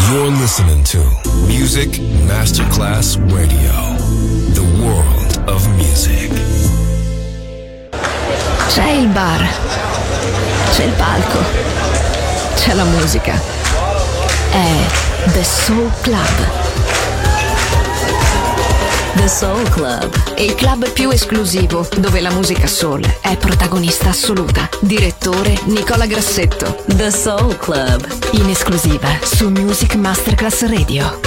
You're listening to Music Masterclass Radio, the world of music. C'è il bar, c'è il palco, c'è la musica. È The Soul Club. The Soul Club, il club più esclusivo dove la musica soul è protagonista assoluta. Direttore Nicola Grassetto. The Soul Club, in esclusiva su Music Masterclass Radio.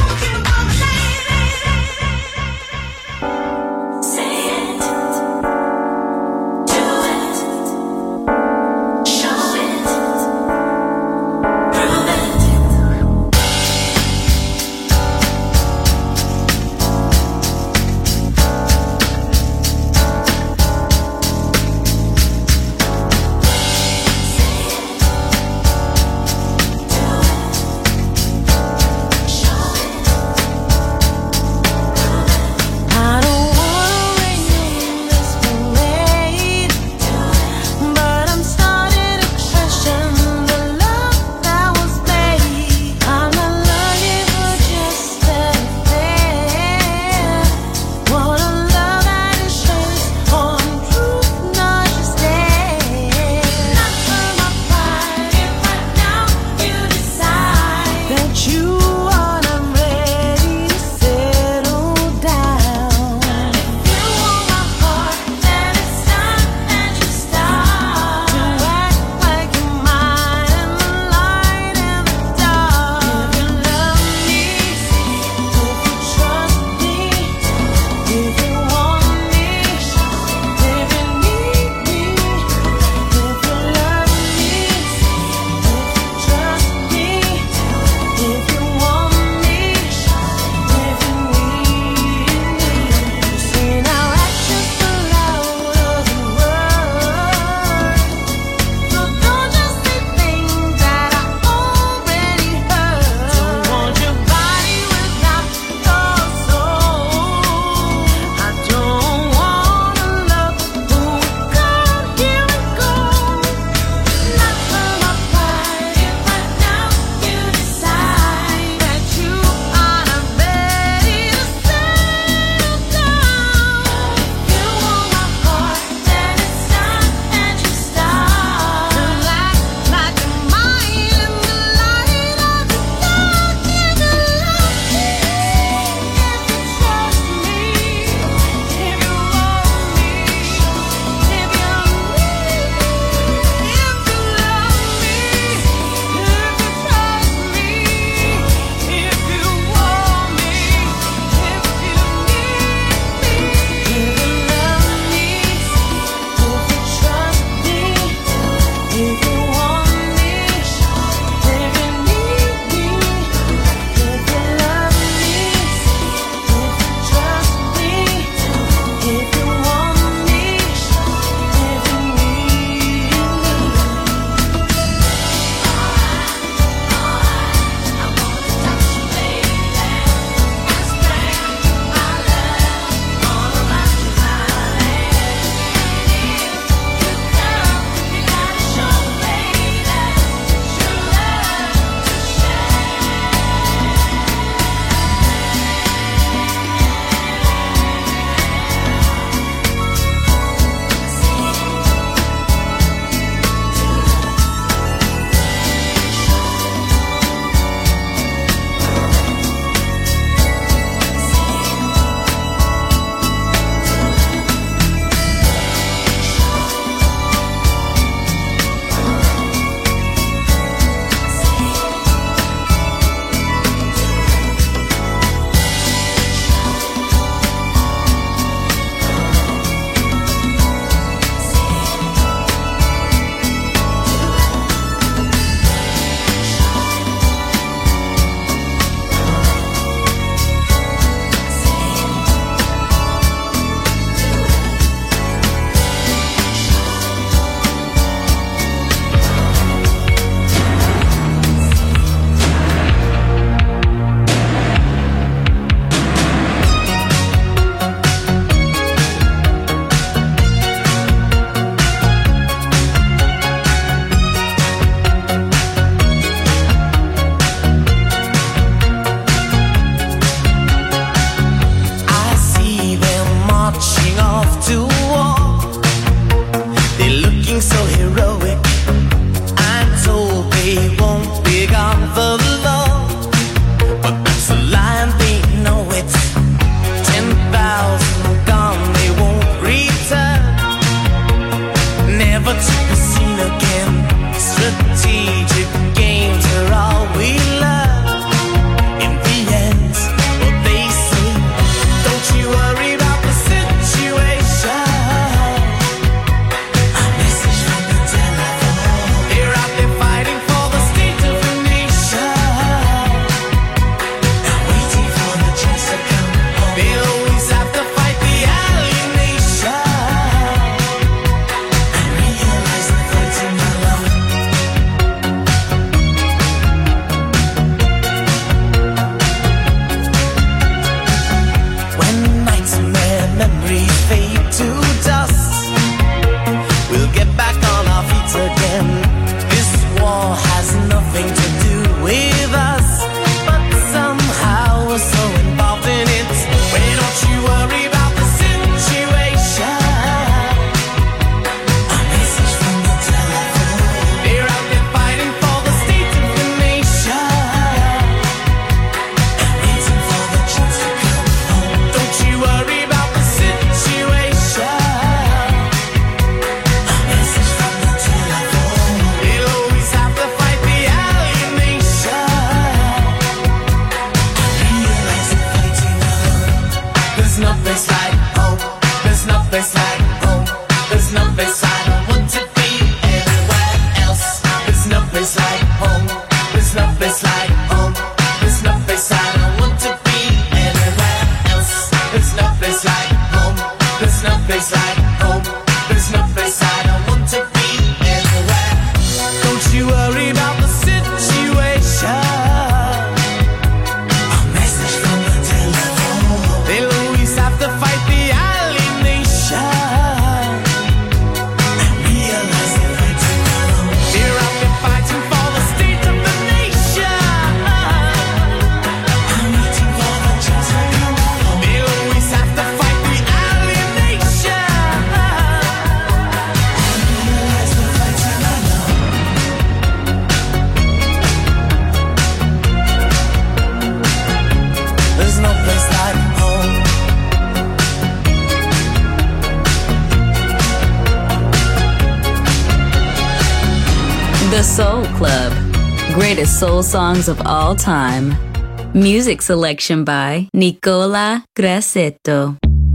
The Soul Club. Greatest soul songs of all time. Music selection by Nicola Grassetto.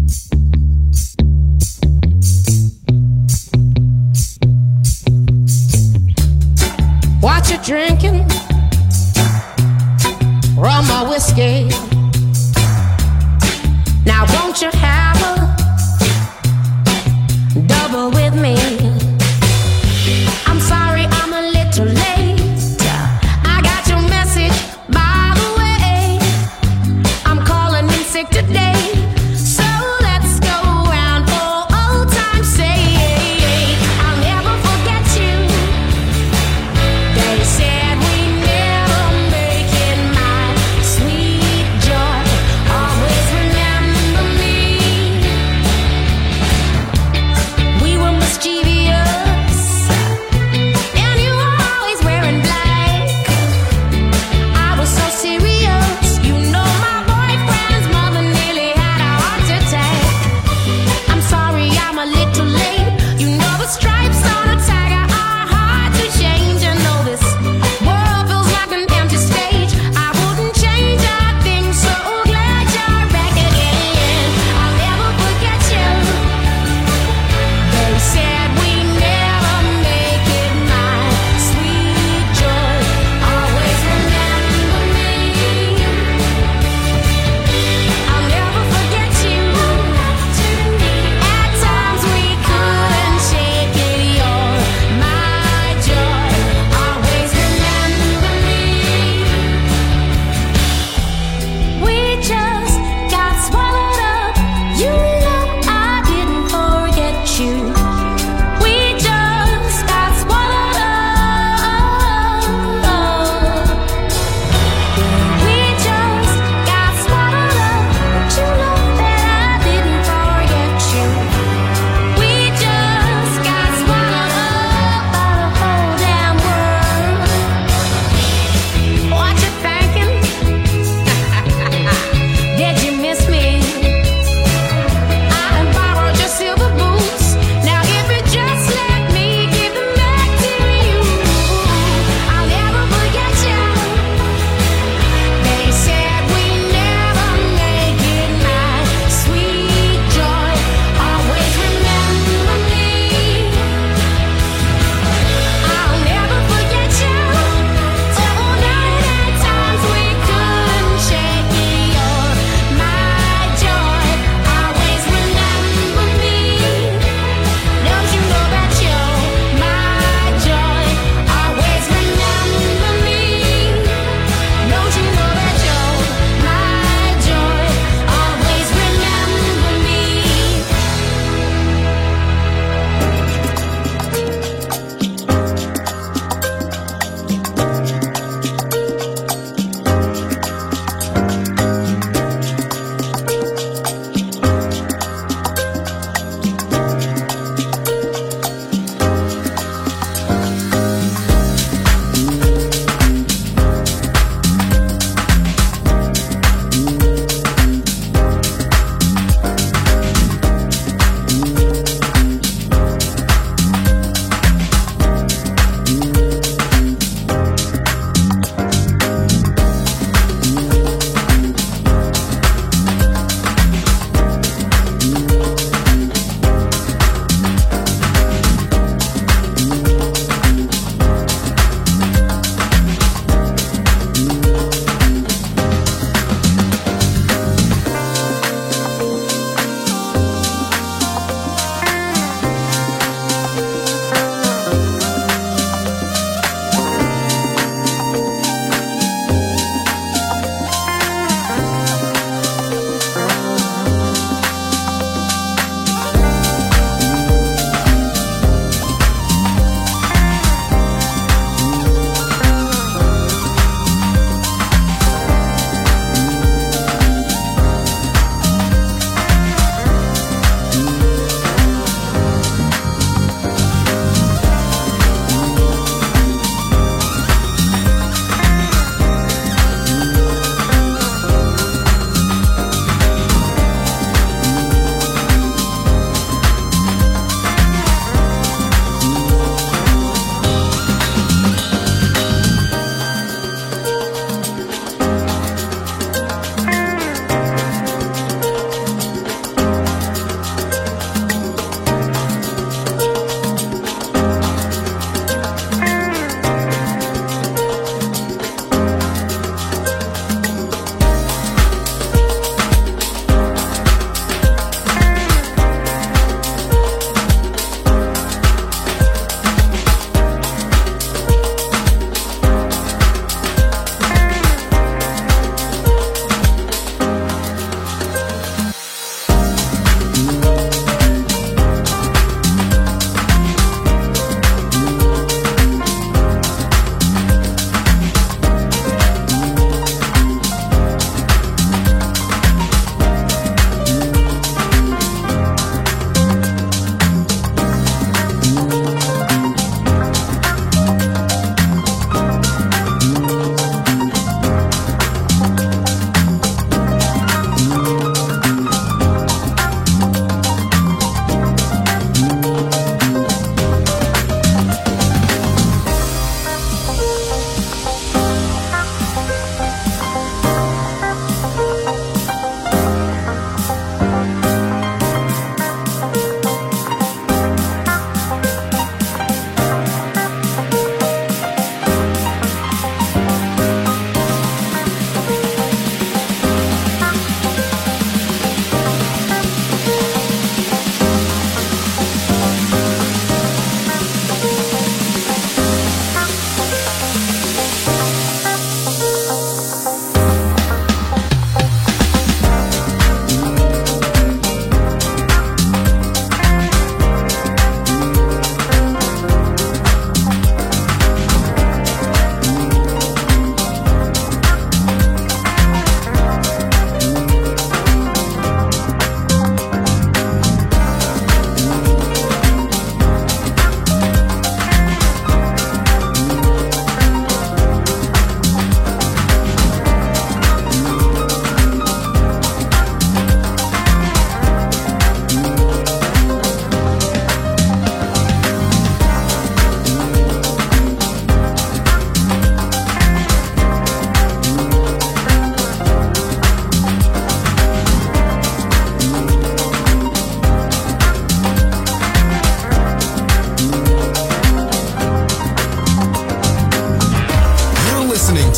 What you drinking? Rum or whiskey? Now won't you have a double with me? I'm sorry I'm a little late. I got your message, by the way. I'm calling in sick today. So let's go round for old time's sake. I'll never forget you. They said we never make it, my sweet joy. Always remember me. We were mischievous.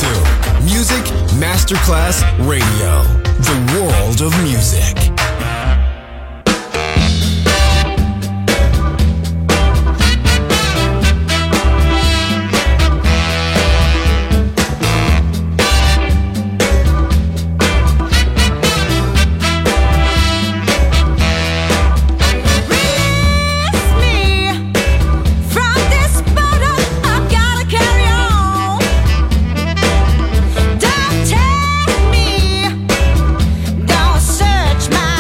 to Music Masterclass Radio, the world of music. Don't search my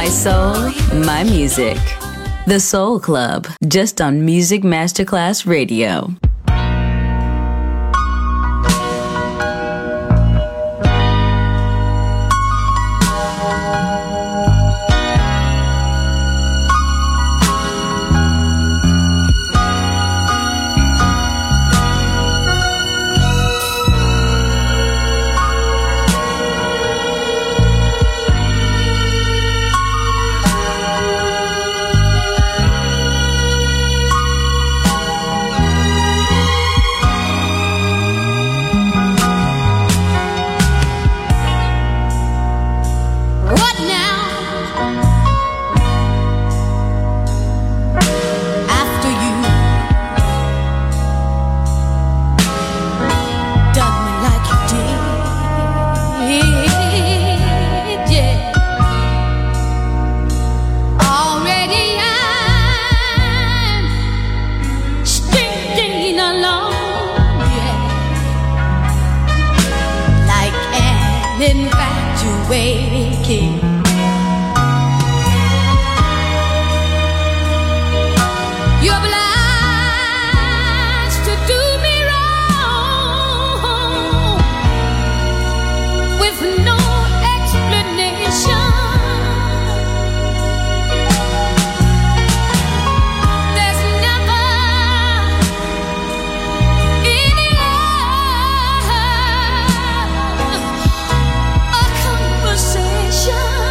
soul, my music. The Soul Club, just on Music Masterclass Radio. Conversation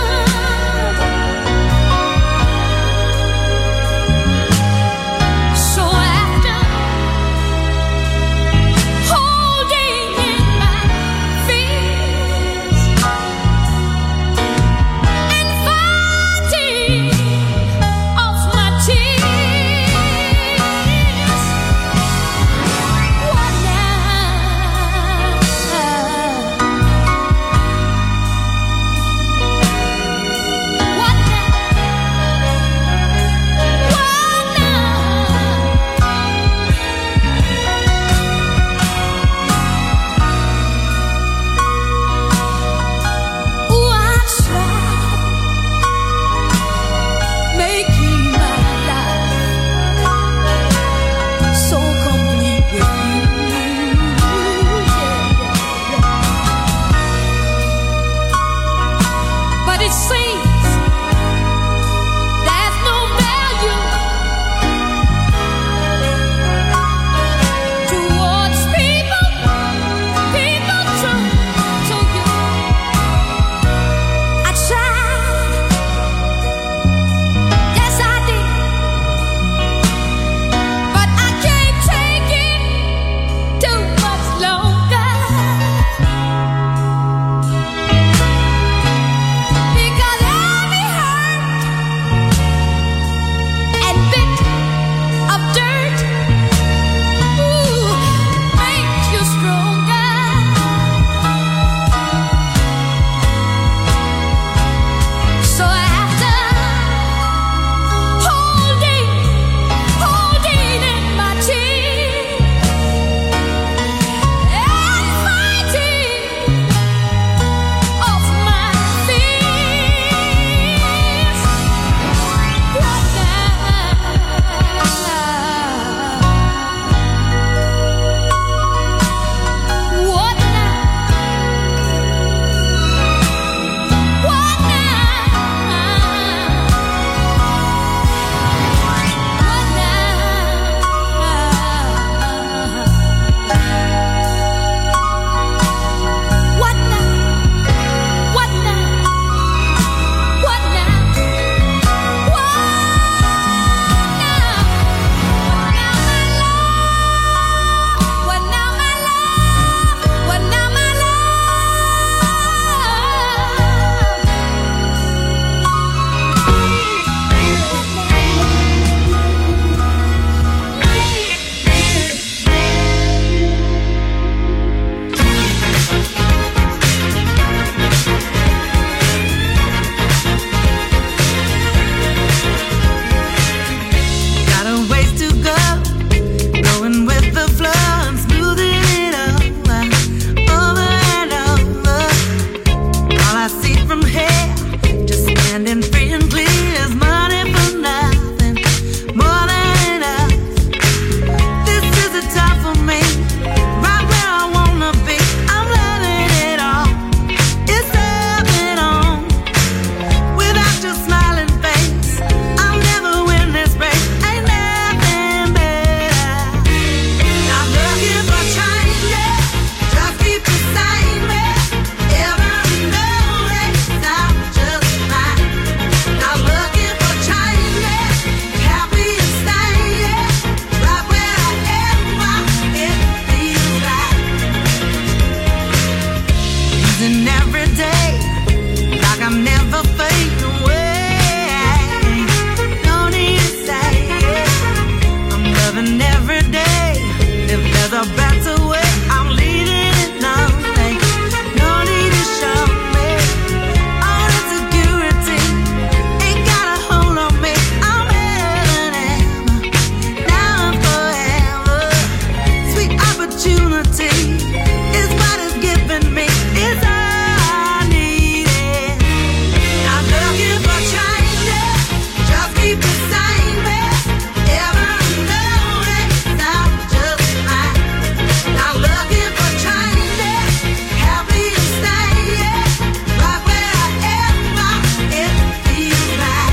losing every day, like I'm never fading away. No need to say it. I'm loving every day. If there's a better way, I'm leading it now. No need to show me all insecurity. Ain't got a hold on me. I'm heaven and now and forever. Sweet opportunity is what it's giving me. It's all I needed. Not looking for changes, just keep the same best. Ever known it, I'm just fine. Not looking for changes, happy to stay, yeah. Right where I am, it feels right.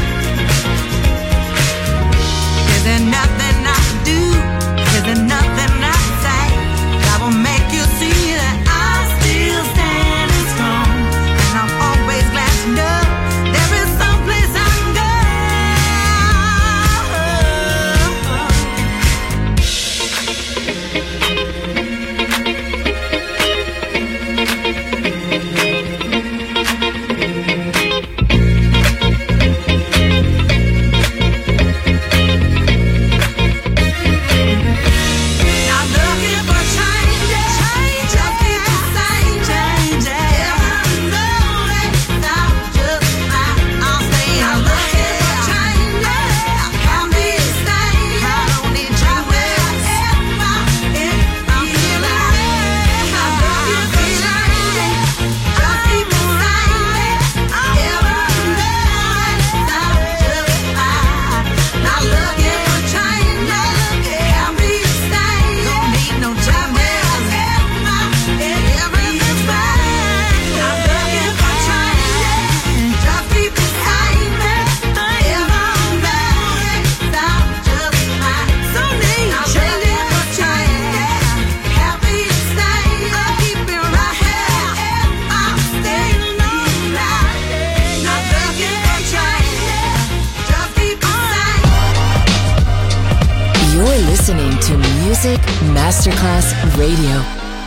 Is there nothing I can do? Is there nothing I can say that will make you see that I'm still standing strong? And I'm always glad to know there is some place I can go. Not looking for changes, just keep the same changes. Ever know it, I'm just fine. I'll stay. Not looking for changes, happy to stay. I don't need you wherever it feels like. Not looking for changes, just keep the same. Ever know it, I'm just fine. Not looking for changes, happy to stay. Don't need no changes, everything's fine. Not looking for changes, just keep the same. Ever know it, I'm just fine. So need not looking for changes, happy to stay. I'll keep it right here. I'll stay alone now. Not looking for changes, just keep the same. You're listening to Music Masterclass Radio.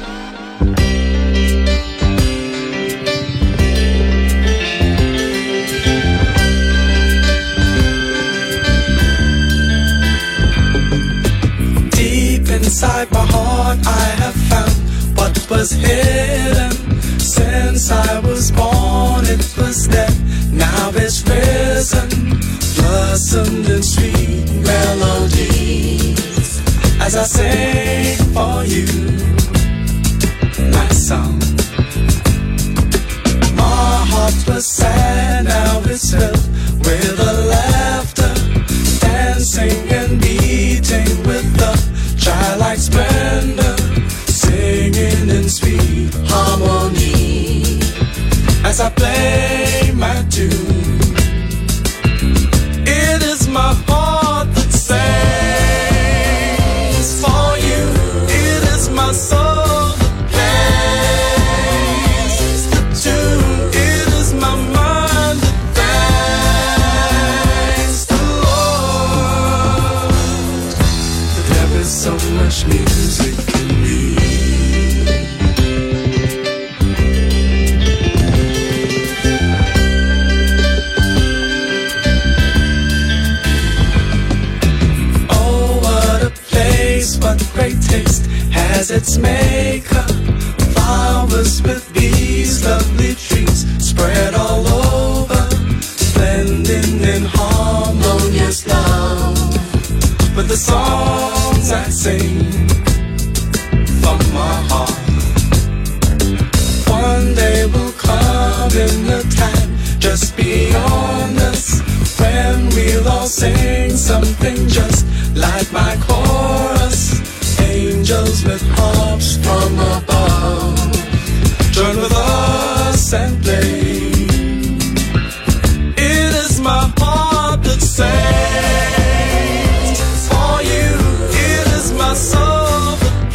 Deep inside my heart I have found what was hidden. Since I was born it was dead, now it's risen. Blossomed in sweet melodies as I sing for you my song. My heart was sad, now it's filled with a laughter, dancing and beating with the childlike splendor, singing in sweet harmony as I play my tune. It is my heart that sings for you. It is my soul that plays the tune. It is my mind that thanks the Lord. There is so much music in me. What great taste has its maker. Flowers with these lovely trees spread all over, blending in harmonious love with the songs I sing from my heart. One day will come in the time just beyond us, when we'll all sing something just like my chorus. Angels with harps from above join with us and play. It is my heart that sings for you. It is my soul that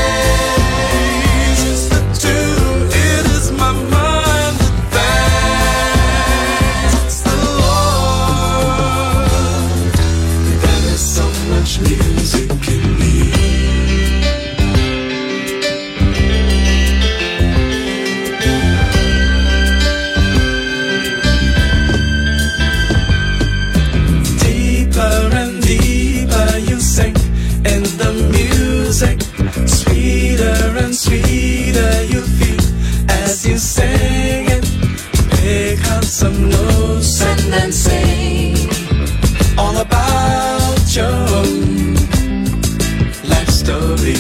plays the tune. It is my mind that thanks the Lord. There is so much music in me. you singing because I'm loose and dancing all about your life story.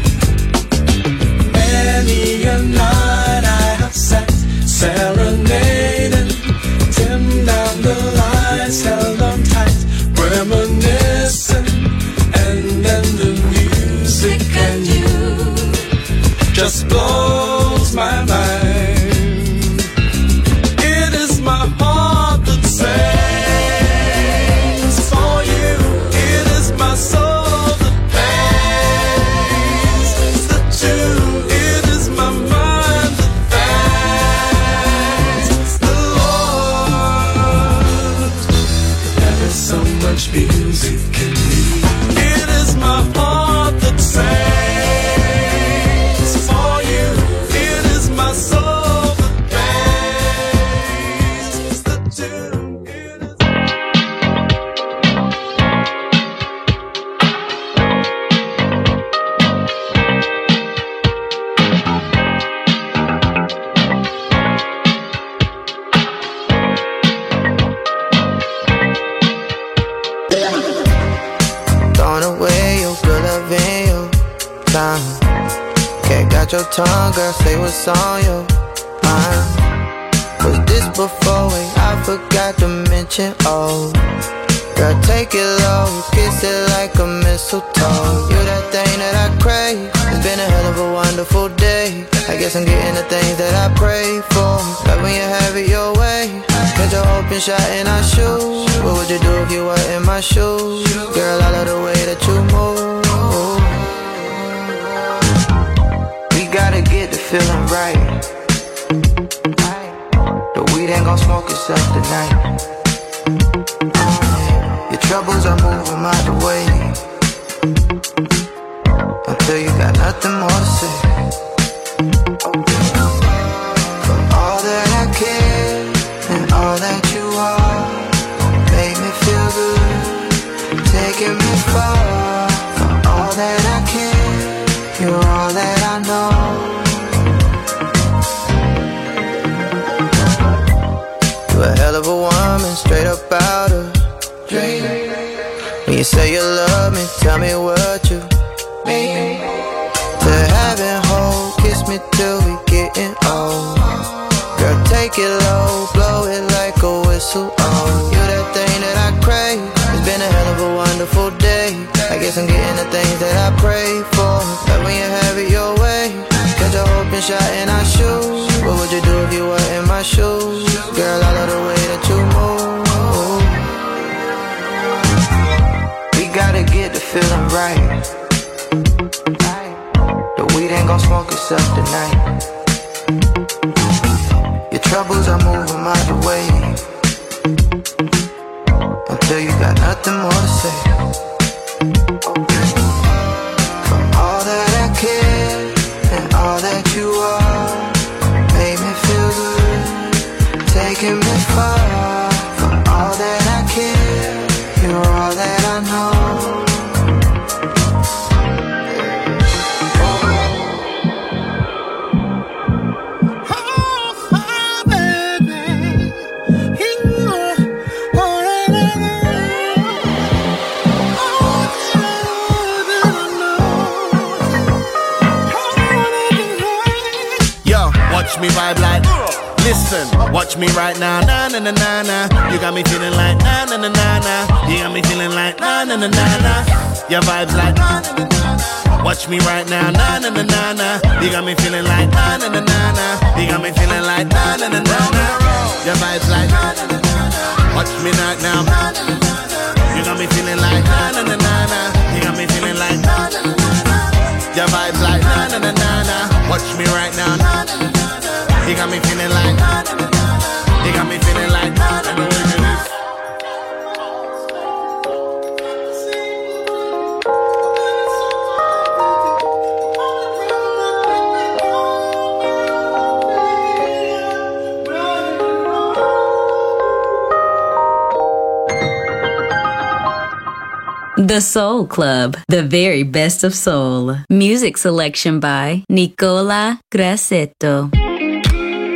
Many a night I have sat serenading, dim down the lights, held on tight, reminiscing, and then the music and you just blows my mind. It is my heart that sings for you. It is my soul that plays the tune. It is my mind that thanks the Lord. There is so much music in me. It is my heart that sings. Your tongue, girl, say what's on your mind. Was this before? Wait, I forgot to mention, oh. Girl, take it low, kiss it like a mistletoe. You that thing that I crave. It's been a hell of a wonderful day. I guess I'm getting the things that I pray for. Love when you have it your way. Catch a open shot in our shoes. What would you do if you were in my shoes? Girl, I love the way that you move. Gotta get the feeling right. The weed ain't gon' smoke itself tonight. Your troubles are moving out the way until you got nothing more to say. For all that I care and all that you are, make me feel good, taking me far. For all that I care, you're all that I know. You're a hell of a woman, straight up out of dream. When you say you love me, tell me what you mean. To have and hold, kiss me till we getting old. Girl, take it low, blow it like a whistle. Oh, you're that thing that I crave. It's been a hell of a wonderful day. I guess I'm getting the things that I pray for. Love when you have it your way. Catch a open shot in our shoes. What would you do if you were in my shoes? Girl, I love the way that you move. We gotta get the feeling right. The weed ain't gon' smoke itself tonight. Your troubles are moving out the way until you got nothing more to say. For all that I care and all that you are, make me feel good, taking me far. For all that I care, you're all that I know. Watch me vibe like, listen, watch me right now, na na na na na. You got me feeling like na na na na na. You got me feeling like na na na na na. Your vibes like na na na na. Watch me right now, na na na na na. You got me feeling like na na na na na. You got me feeling like na na na na na. Your vibes like na na na na. Watch me right now, na na na na. You got me feeling like na na na na na. You got me feeling like na na na na. Your vibes like na na na na na. Watch me right now, na na na na. You got me feeling like, you got me feeling like, The Soul Club, the very best of soul. Music selection by Nicola Grassetto.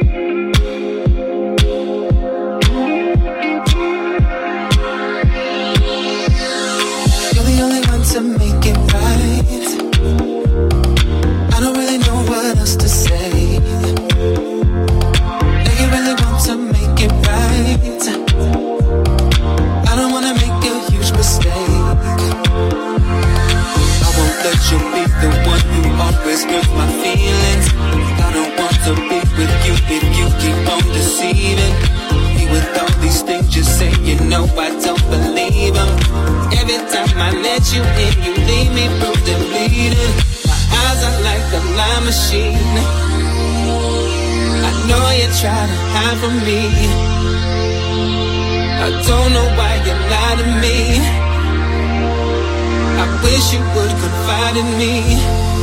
deceiving me with all these things you say. You know I don't believe them. Every time I let you in, you leave me bruised and bleeding. My eyes are like a lie machine. I know you try to hide from me. I don't know why you lie to me. I wish you would confide in me.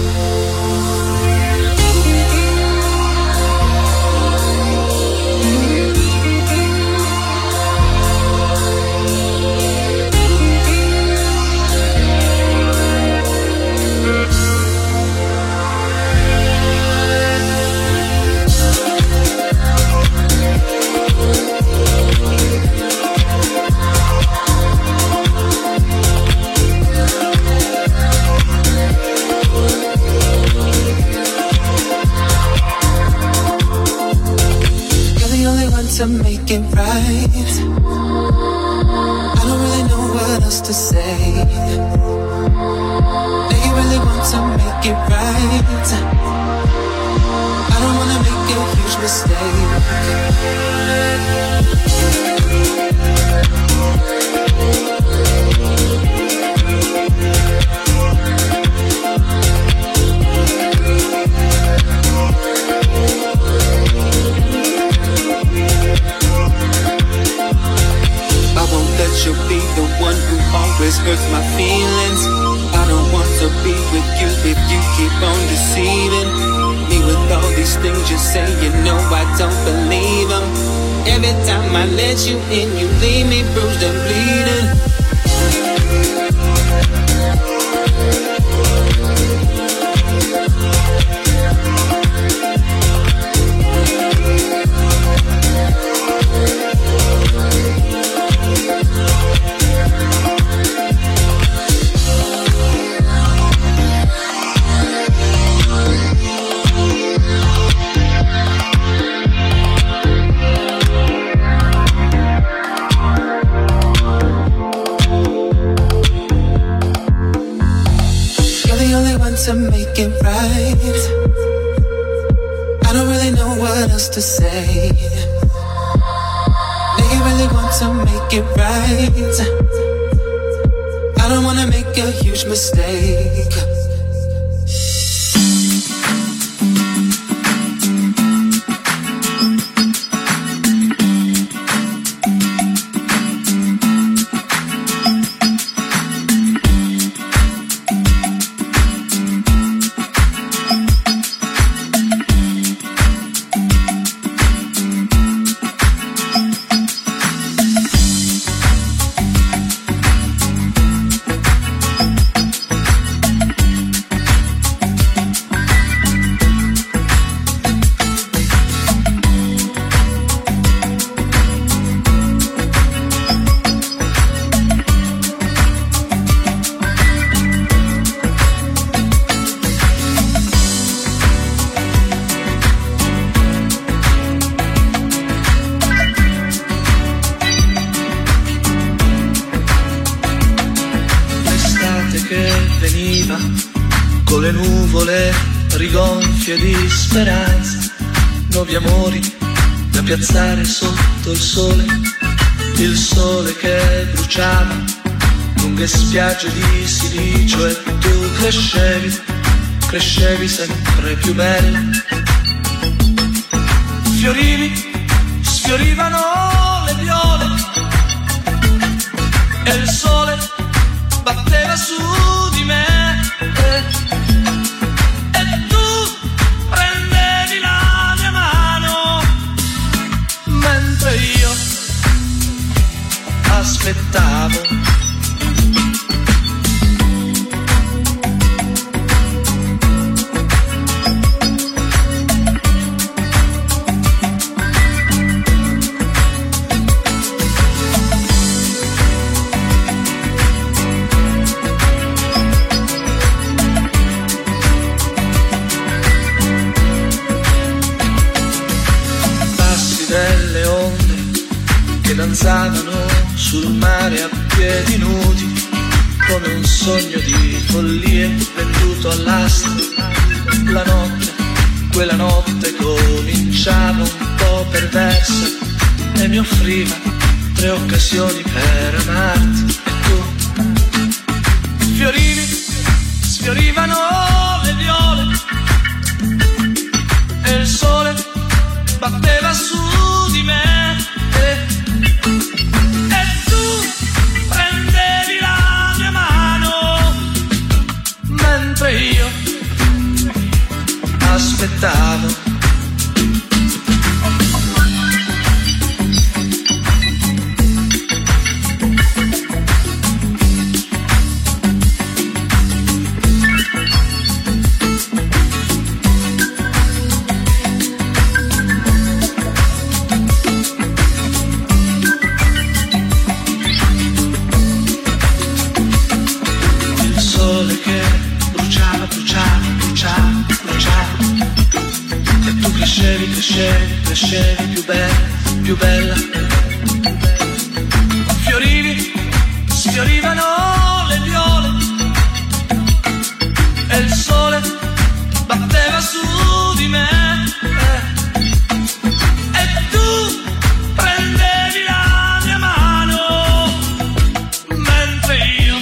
To make it right, I don't really know what else to say. Do you really want to make it right? I don't wanna make a huge mistake. You'll be the one who always hurts my feelings. I don't want to be with you if you keep on deceiving me with all these things you say. You know I don't believe them. Every time I let you in, you leave me bruised and bleeding. To make it right, I don't really know what else to say. Do you really want to make it right? I don't wanna make a huge mistake. Con le nuvole rigonfie di speranza, nuovi amori da piazzare sotto il sole che bruciava lunghe spiagge di silicio, e tu crescevi sempre più bella. Sfiorivano le viole e il sole batteva su di me. Aspettavo. Passi delle onde che danzavano sul mare a piedi nudi, come un sogno di follie venduto all'asta. La notte, quella notte cominciava un po' perversa e mi offriva 3 occasioni per amarti. E tu sfiorivano le viole e il sole batteva su di me e tu prendevi la mia mano mentre io aspettavo. Crescevi più bella. Sfiorivano le viole e il sole batteva su di me e tu prendevi la mia mano mentre io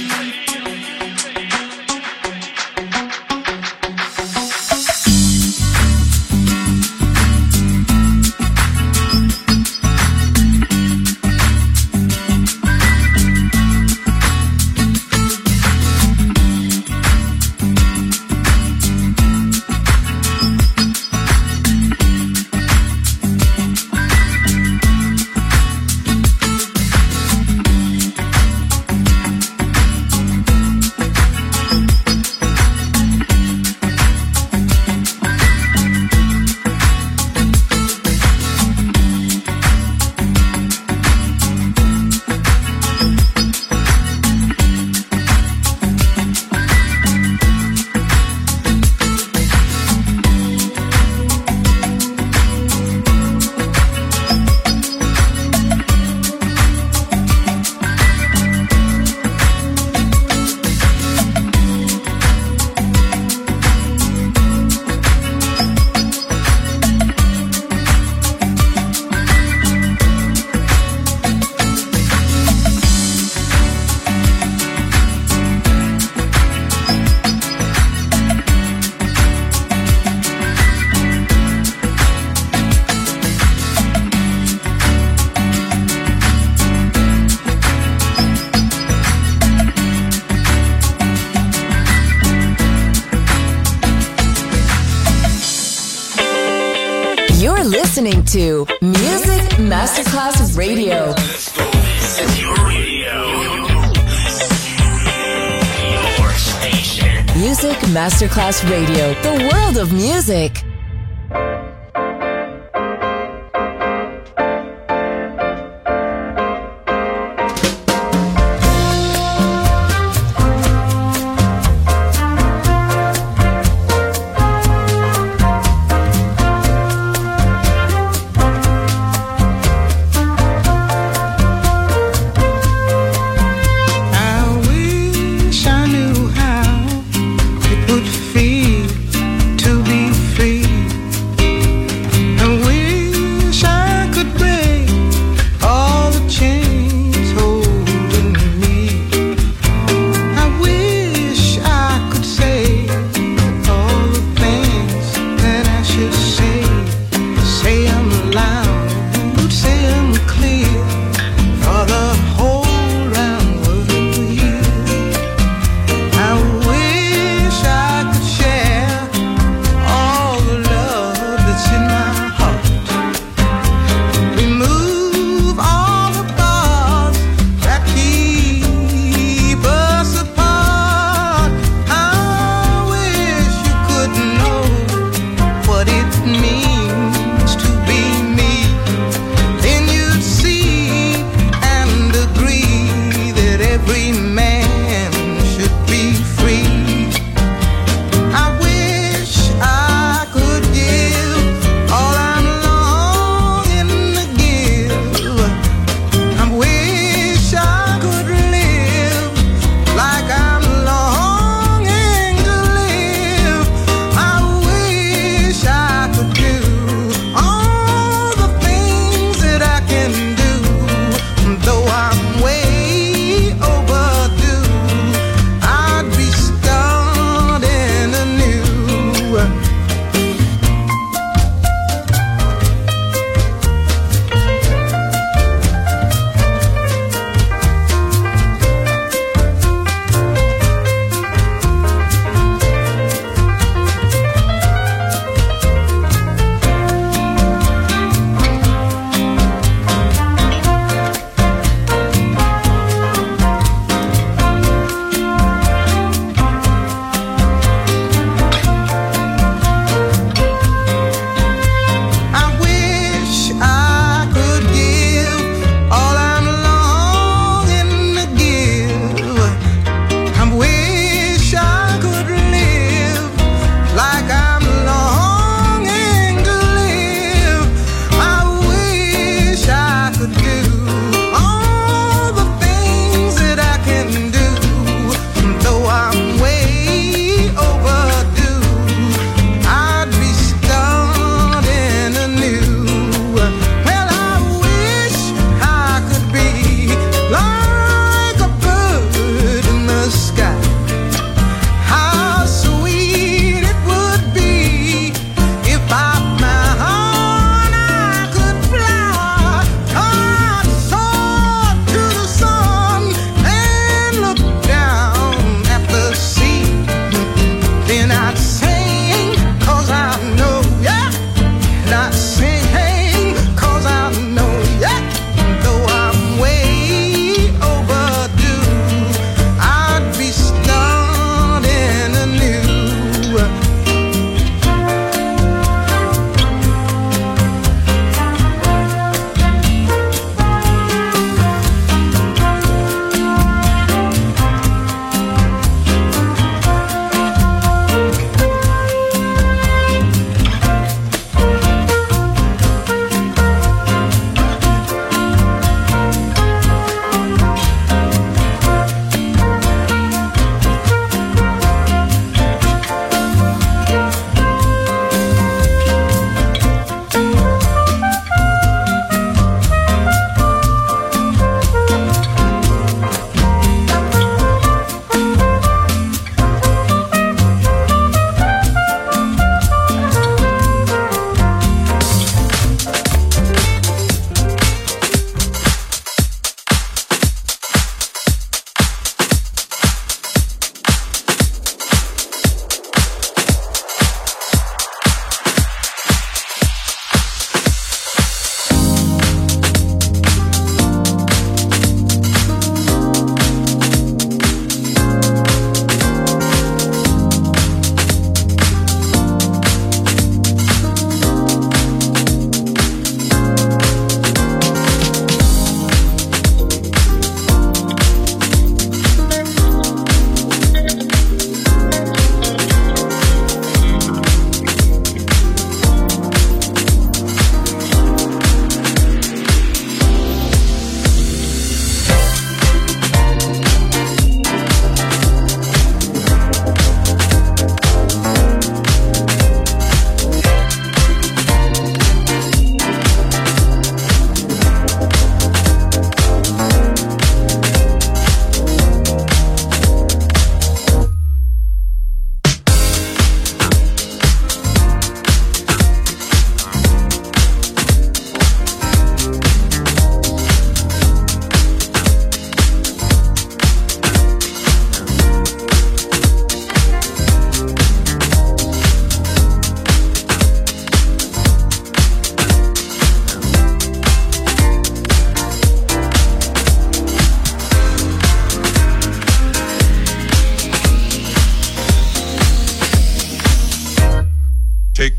Listening to Music Masterclass Radio. This is your radio. Your station. Music Masterclass Radio. The world of music. Free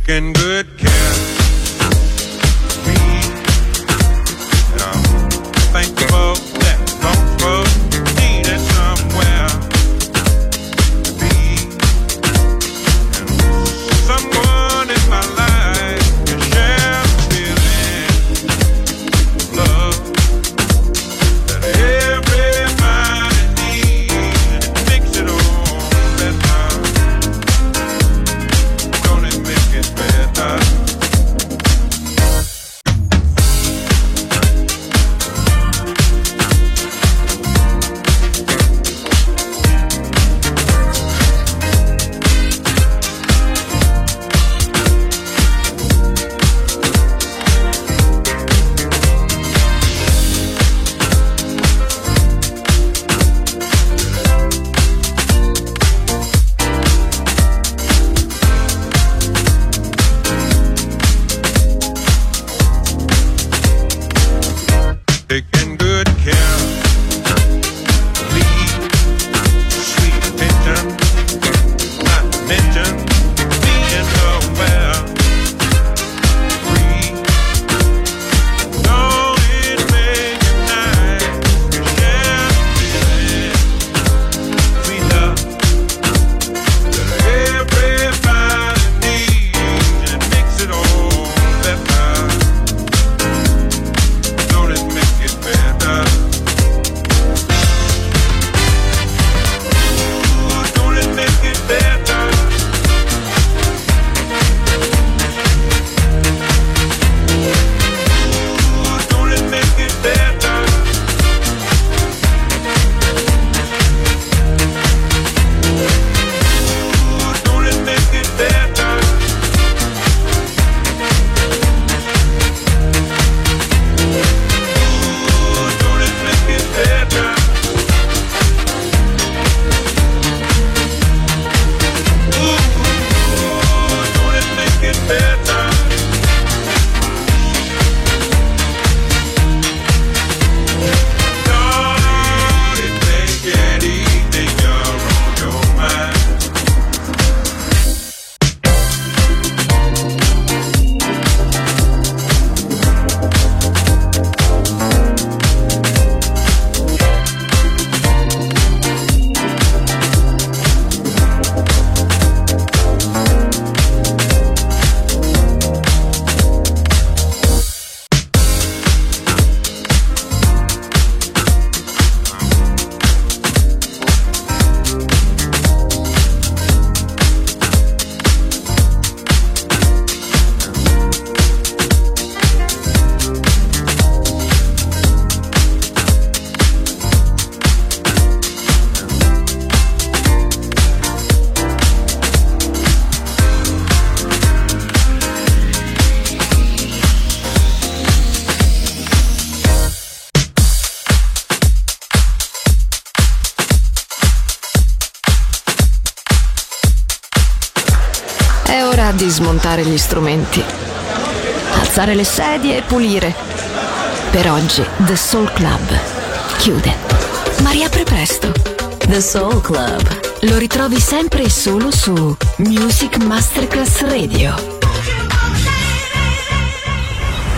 taking good care of me. And I'm thankful that most folks needed somewhere to be. And someone in my life can share the feeling of love that everybody needs, and it makes it all better. Don't it make it better? Taking good care of me, sweet attention, not to mention being nowhere free. Don't it make it nice to share the feeling, sweet love that everybody needs, and it makes it all better. Don't it make it better? Ooh, don't it make it better? Ooh, don't it make it better? Ooh, don't it make it better? Don't it make it better? Ooh, don't it make it better? Don't it make anything you're on your mind? È ora di smontare gli strumenti, alzare le sedie e pulire. Per oggi The Soul Club chiude, ma riapre presto. The Soul Club. Lo ritrovi sempre e solo su Music Masterclass Radio.